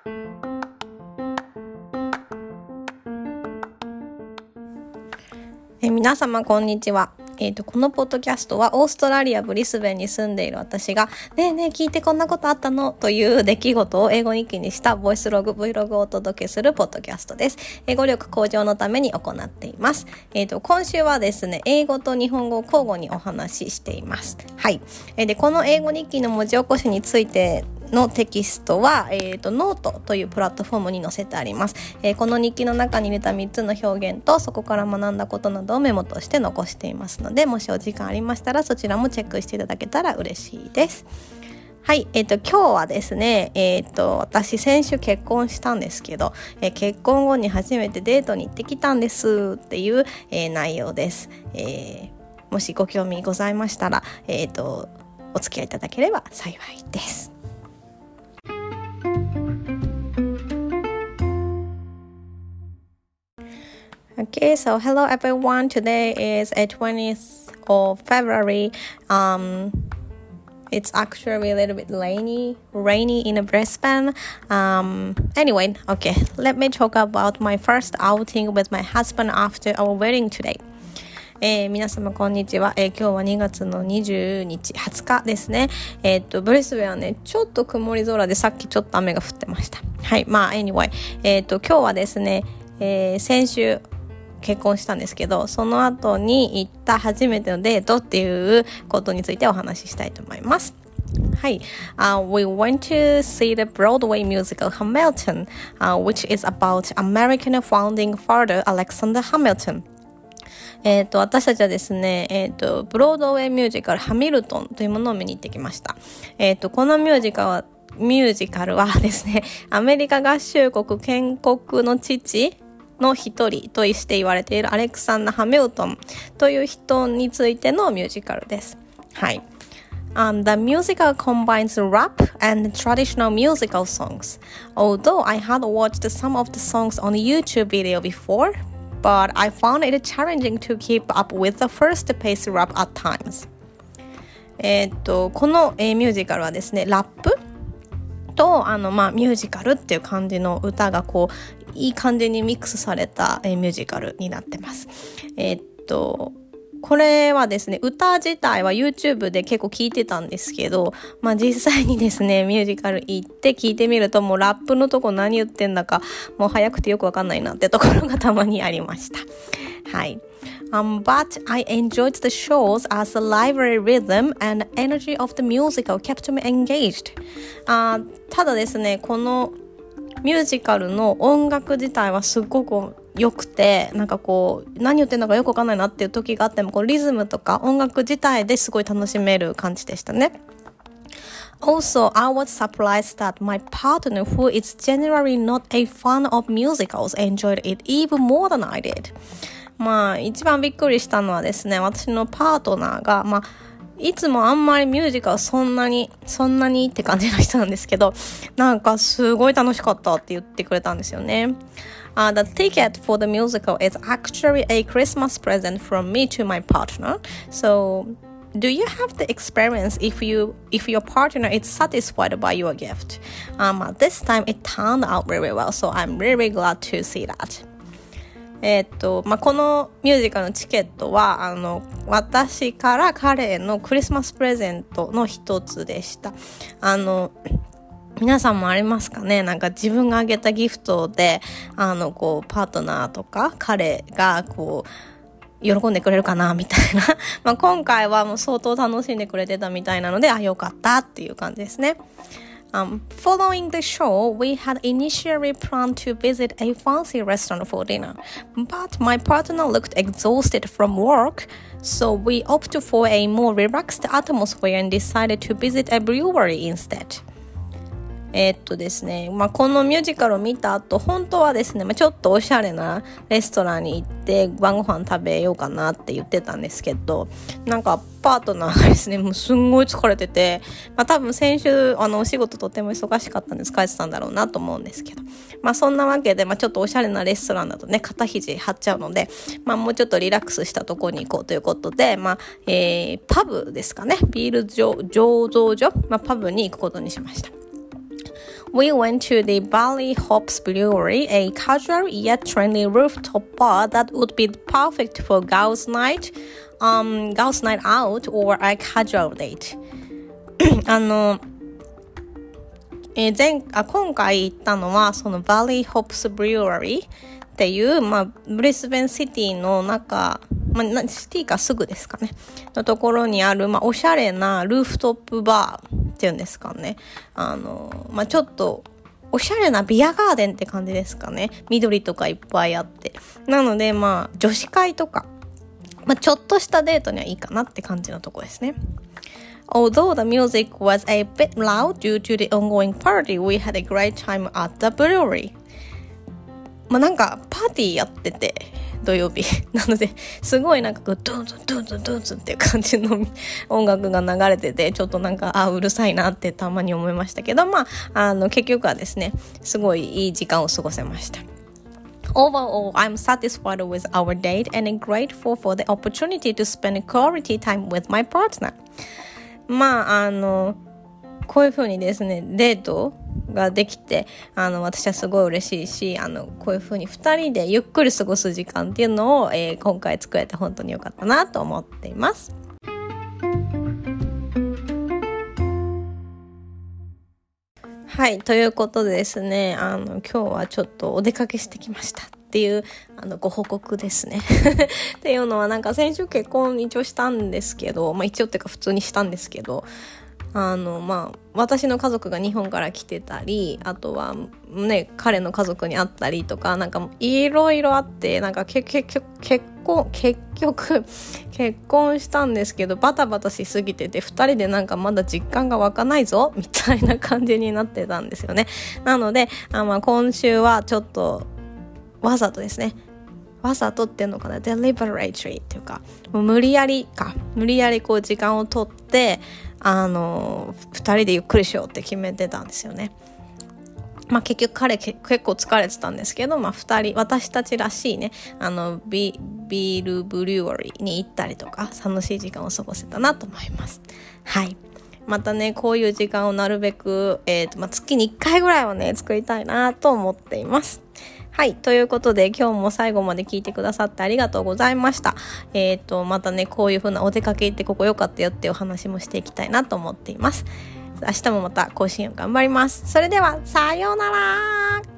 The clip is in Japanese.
皆様こんにちは。このポッドキャストはオーストラリアブリスベンに住んでいる私がねえねえ聞いてこんなことあったのという出来事を英語日記にしたボイスログ Vlog をお届けするポッドキャストです。英語力向上のために行っています。今週はですね、英語と日本語を交互にお話ししています。はい。で、この英語日記の文字起こしについてのテキストは、ノートというプラットフォームに載せてあります。この日記の中に入れた3つの表現とそこから学んだことなどをメモとして残していますので、もしお時間ありましたらそちらもチェックしていただけたら嬉しいです。はい、今日はですね、私先週結婚したんですけど、結婚後に初めてデートに行ってきたんですっていう、内容です。もしご興味ございましたら、お付き合いいただければ幸いです。Okay, so hello everyone. Today is a 20th of February. It's actually a little bit rainy in Brisbane. Anyway, okay, let me talk about my first outing with my husband after our wedding today. 皆様こんにちは。今日は2月の20日ですね。ブリスベンはね、ちょっと曇り空でさっきちょっと雨が降ってました。はい、まあ anyway、今日はですね、先週結婚したんですけど、その後に行った初めてのデートっていうことについてお話ししたいと思います。はい、we went to see the Broadway musical Hamilton, which is about American founding father Alexander Hamilton. 私たちはですね、ブロードウェイミュージカルハミルトンというものを見に行ってきました。このミュージカルはですね、アメリカ合衆国建国の父の一人として言われているアレクサンダー・ハミルトンという人についてのミュージカルです。はい。The musical combines rap and traditional musical songs. Although I had watched some of the songs on the YouTube video before, but I found it challenging to keep up with the first-paced rap at times. この、ミュージカルはですね、ラップとミュージカルっていう感じの歌がこういい感じにミックスされた、ミュージカルになってます。これはですね、歌自体は YouTube で結構聞いてたんですけど、実際にですね、ミュージカル行って聞いてみると、もうラップのとこ何言ってんだか、もう早くてよくわかんないなってところがたまにありました。はい。But I enjoyed the shows as the lively rhythm and energy of the musical kept me engaged. ただですね、このミュージカルの音楽自体はすごく良くて、なんかこう何言ってんのかよくわかんないなっていう時があっても、こうリズムとか音楽自体ですごい楽しめる感じでしたね。Also, I was surprised that my partner, who is generally not a fan of musicals, enjoyed it even more than I did. 一番びっくりしたのはですね、私のパートナーがいつもあんまりミュージカルそんなにって感じの人なんですけど、なんかすごい楽しかったって言ってくれたんですよね。The ticket for the musical is actually a Christmas present from me to my partner. So, do you have the experience if your partner is satisfied by your gift? This time it turned out really well, so I'm really glad to see that.このミュージカルのチケットは私から彼へのクリスマスプレゼントの一つでした。皆さんもありますかね。なんか自分があげたギフトでこうパートナーとか彼がこう喜んでくれるかなみたいな今回はもう相当楽しんでくれてたみたいなので、よかったっていう感じですね。Following the show, we had initially planned to visit a fancy restaurant for dinner, but my partner looked exhausted from work, so we opted for a more relaxed atmosphere and decided to visit a brewery instead. ですね、このミュージカルを見た後、本当はですね、ちょっとおしゃれなレストランに行って晩ご飯食べようかなって言ってたんですけど、なんかパートナーがですね、もうすんごい疲れてて、多分先週お仕事とても忙しかったんで疲れてたんだろうなと思うんですけど、そんなわけで、ちょっとおしゃれなレストランだとね、肩肘張っちゃうので、もうちょっとリラックスしたところに行こうということで、パブですかね、ビール醸造所、パブに行くことにしました。 We went to the Valley Hops Brewery, a casual yet trendy rooftop bar that would be perfect for girls' night out or a casual date. 今回行ったのはその Valley Hops Brewery っていう、ブリスベンシティの中、シティかすぐですかねのところにある、おしゃれなルーフトップバーっていうんですかね。ちょっとおしゃれなビアガーデンって感じですかね。緑とかいっぱいあって、なので女子会とか、ちょっとしたデートにはいいかなって感じのとこですね。Although the music was a bit loud due to the ongoing party, we had a great time at the brewery. なんかパーティーやってて土曜日なのですごいなんかドゥンズンドゥンズンドゥンズンっていう感じの音楽が流れてて、ちょっとなんかうるさいなってたまに思いましたけど、結局はですねすごいいい時間を過ごせました。Overall, I'm satisfied with our date and grateful for the opportunity to spend quality time with my partner. こういう風にですねデートができて私はすごい嬉しいし、こういう風に2人でゆっくり過ごす時間っていうのを、今回作れて本当に良かったなと思っています。はい、ということでですね今日はちょっとお出かけしてきましたっていうご報告ですねっていうのはなんか先週結婚一応したんですけど、一応っていうか普通にしたんですけど、私の家族が日本から来てたり、あとはね彼の家族に会ったりとか、なんかいろいろあって、なんか結局結婚したんですけどバタバタしすぎてて、2人でなんかまだ実感が湧かないぞみたいな感じになってたんですよね。なので今週はちょっとわざとですね、わざとっていうのかな、deliberately っていうか無理やりこう時間を取って2人でゆっくりしようって決めてたんですよね。結局彼結構疲れてたんですけど、私たちらしいねビールブリュワリーに行ったりとか楽しい時間を過ごせたなと思います。はい、またねこういう時間をなるべく、月に1回ぐらいはね作りたいなと思っています。はい、ということで今日も最後まで聞いてくださってありがとうございました。またねこういう風なお出かけ行ってここ良かったよっていうお話もしていきたいなと思っています。明日もまた更新を頑張ります。それではさようなら。